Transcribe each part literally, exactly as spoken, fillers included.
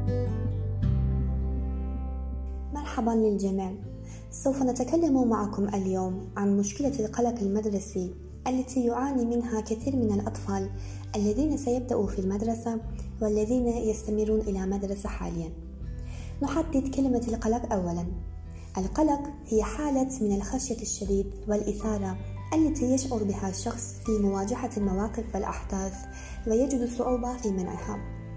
مرحبا للجميع. سوف نتكلم معكم اليوم عن مشكلة القلق المدرسي التي يعاني منها كثير من الأطفال الذين سيبدأوا في المدرسة والذين يستمرون إلى مدرسة حاليا. نحدد كلمة القلق أولا. القلق هي حالة من الخشية الشديد والإثارة التي يشعر بها الشخص في مواجهة المواقف والأحداث ويجد صعوبة في منعها.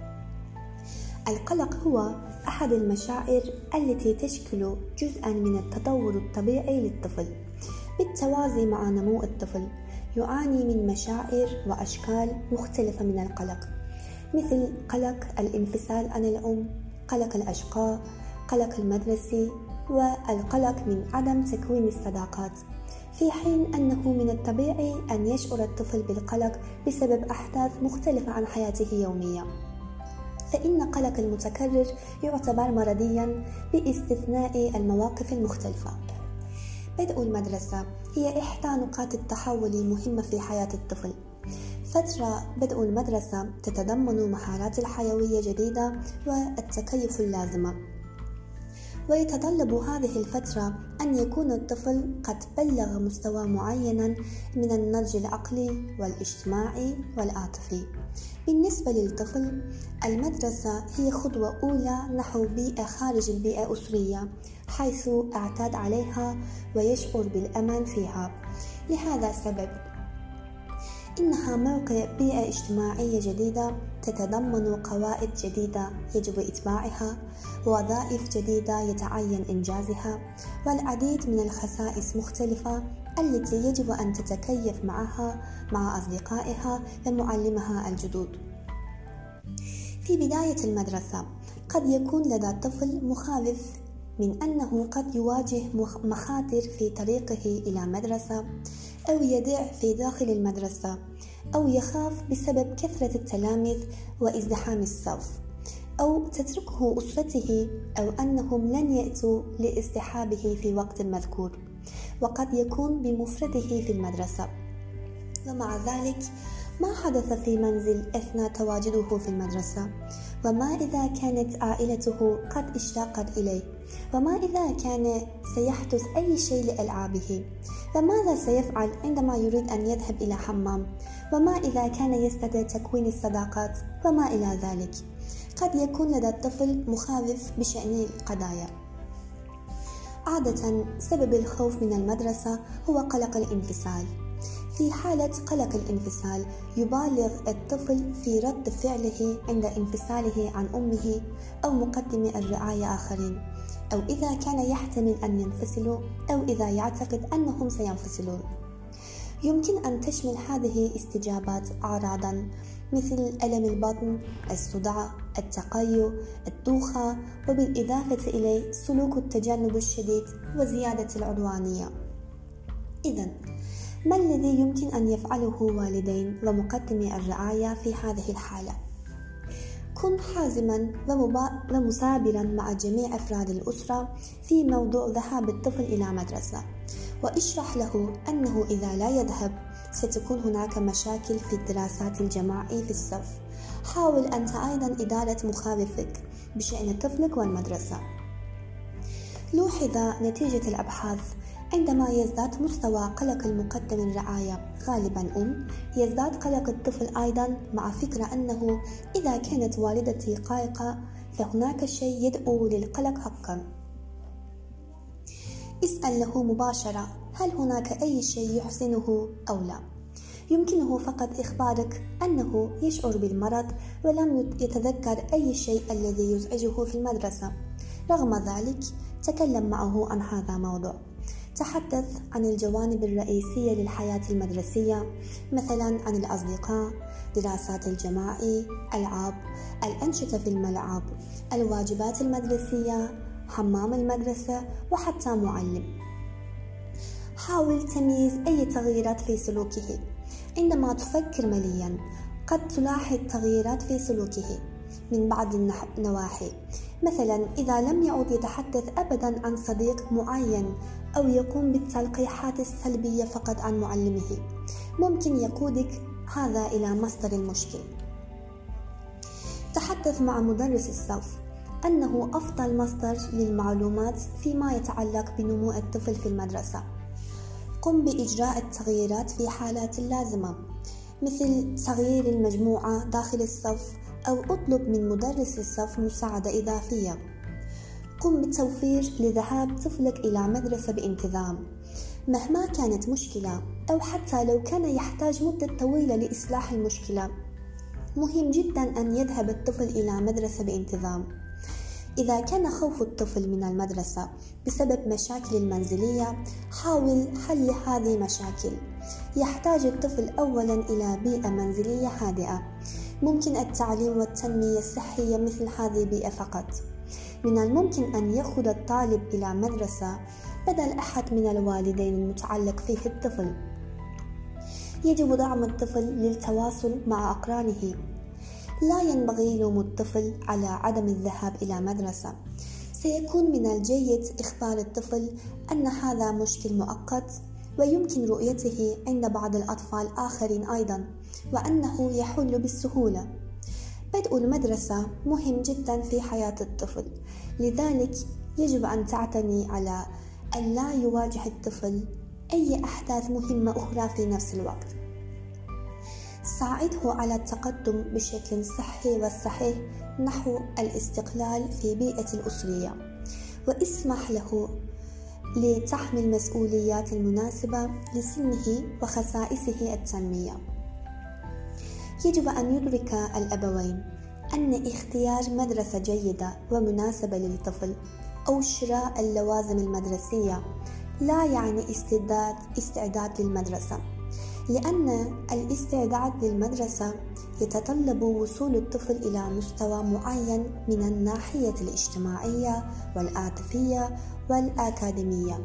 القلق هو أحد المشاعر التي تشكل جزءا من التطور الطبيعي للطفل بالتوازي مع نمو الطفل. يعاني من مشاعر وأشكال مختلفة من القلق، مثل قلق الانفصال عن الأم، قلق الأشقاء، قلق المدرسي، والقلق من عدم تكوين الصداقات، في حين أنه من الطبيعي أن يشعر الطفل بالقلق بسبب أحداث مختلفة عن حياته يوميا. فإن قلق المتكرر يعتبر مرضيا باستثناء المواقف المختلفة. بدء المدرسة هي إحدى نقاط التحول المهمة في حياة الطفل. فترة بدء المدرسة تتضمن مهارات الحيوية جديدة والتكيف اللازمة، ويتطلب هذه الفترة أن يكون الطفل قد بلغ مستوى معين من النضج العقلي والاجتماعي والعاطفي. بالنسبة للطفل، المدرسة هي خطوة أولى نحو بيئة خارج البيئة الأسرية، حيث اعتاد عليها ويشعر بالأمان فيها. لهذا السبب إنها موقع بيئة اجتماعية جديدة تتضمن قواعد جديدة يجب إتباعها، ووظائف جديدة يتعين إنجازها، والعديد من الخصائص مختلفة التي يجب أن تتكيف معها مع أصدقائها ومعلمها الجدد. في بداية المدرسة قد يكون لدى الطفل مخاوف من أنه قد يواجه مخاطر في طريقه إلى مدرسة، أو يضيع في داخل المدرسة، أو يخاف بسبب كثرة التلاميذ وازدحام الصف، أو تتركه أسرته، أو أنهم لن يأتوا لاصطحابه في وقت مذكور، وقد يكون بمفرده في المدرسة. ومع ذلك، ما حدث في منزل أثناء تواجده في المدرسة؟ وما إذا كانت عائلته قد اشتاقت إليه؟ وما إذا كان سيحدث أي شيء لألعابه؟ وماذا سيفعل عندما يريد أن يذهب إلى حمام؟ وما إذا كان يستطيع تكوين الصداقات؟ وما إلى ذلك. قد يكون لدى الطفل مخاوف بشأن القضايا. عادة سبب الخوف من المدرسة هو قلق الانفصال. في حالة قلق الانفصال يبالغ الطفل في رد فعله عند انفصاله عن أمه أو مقدم الرعاية آخرين، أو إذا كان يحتمل أن ينفصلوا، أو إذا يعتقد أنهم سينفصلون. يمكن أن تشمل هذه استجابات أعراضا مثل ألم البطن، الصداع، التقيؤ، الدوخة، وبالإضافة إليه سلوك التجنب الشديد وزيادة العدوانية. إذن ما الذي يمكن أن يفعله والدين ومقدمي الرعاية في هذه الحالة؟ كن حازما ومثابرا مع جميع أفراد الأسرة في موضوع ذهاب الطفل إلى مدرسة، واشرح له أنه إذا لا يذهب ستكون هناك مشاكل في الدراسات الجماعية في الصف. حاول أنت أيضا إدارة مخاوفك بشأن طفلك والمدرسة. لوحظ نتيجة الأبحاث: عندما يزداد مستوى قلق المقدم الرعاية، غالبا أم، يزداد قلق الطفل أيضا، مع فكرة أنه إذا كانت والدتي قلقة فهناك شيء يدعو للقلق حقا. اسأل له مباشرة: هل هناك أي شيء يحزنه أو لا؟ يمكنه فقط إخبارك أنه يشعر بالمرض ولم يتذكر أي شيء الذي يزعجه في المدرسة. رغم ذلك، تكلم معه عن هذا الموضوع. تحدث عن الجوانب الرئيسية للحياة المدرسية، مثلا عن الأصدقاء، دراسات الجماعي، ألعاب، الأنشطة في الملعب، الواجبات المدرسية، حمام المدرسة، وحتى معلم. حاول تمييز أي تغييرات في سلوكه. عندما تفكر مليا قد تلاحظ تغييرات في سلوكه من بعض النواحي، مثلا إذا لم يعد يتحدث أبدا عن صديق معين، أو يقوم بالتلقيحات السلبية فقط عن معلمه، ممكن يقودك هذا إلى مصدر المشكل. تحدث مع مدرس الصف. أنه أفضل مصدر للمعلومات فيما يتعلق بنمو الطفل في المدرسة. قم بإجراء التغييرات في حالات لازمة، مثل تغيير المجموعة داخل الصف أو اطلب من مدرس الصف مساعدة إضافية. قم بالتوفير لذهاب طفلك إلى مدرسة بانتظام مهما كانت مشكلة، أو حتى لو كان يحتاج مدة طويلة لإصلاح المشكلة. مهم جدا أن يذهب الطفل إلى مدرسة بانتظام. إذا كان خوف الطفل من المدرسة بسبب مشاكل المنزلية، حاول حل هذه المشاكل. يحتاج الطفل أولا إلى بيئة منزلية هادئة. ممكن التعليم والتنمية الصحية مثل هذه البيئة فقط. من الممكن أن يأخذ الطالب إلى مدرسة بدل أحد من الوالدين المتعلق فيه الطفل. يجب دعم الطفل للتواصل مع أقرانه. لا ينبغي لوم الطفل على عدم الذهاب إلى مدرسة. سيكون من الجيد إخبار الطفل أن هذا مشكل مؤقت ويمكن رؤيته عند بعض الأطفال آخرين أيضا، وأنه يحل بالسهولة. بدء المدرسة مهم جدا في حياة الطفل، لذلك يجب أن تعتني على أن لا يواجه الطفل أي أحداث مهمة أخرى في نفس الوقت. ساعده على التقدم بشكل صحي وصحيح نحو الاستقلال في بيئة الأسرية، واسمح له لتحمل المسؤوليات المناسبة لسنه وخصائصه التنمية. يجب أن يدرك الأبوين أن اختيار مدرسة جيدة ومناسبة للطفل أو شراء اللوازم المدرسية لا يعني استعداد استعداد للمدرسة، لأن الاستعداد للمدرسة يتطلب وصول الطفل إلى مستوى معين من الناحية الاجتماعية والعاطفية والأكاديمية.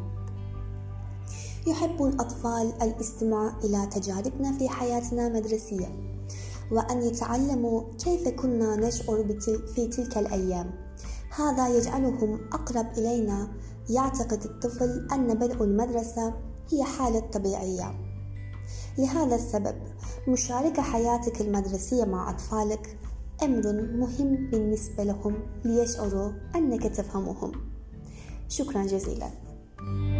يحب الأطفال الاستماع إلى تجاربنا في حياتنا المدرسية، وأن يتعلموا كيف كنا نشعر في تلك الأيام. هذا يجعلهم أقرب إلينا. يعتقد الطفل أن بدء المدرسة هي حالة طبيعية. لهذا السبب مشاركة حياتك المدرسية مع أطفالك أمر مهم بالنسبة لهم ليشعروا أنك تفهمهم. شكرا جزيلا.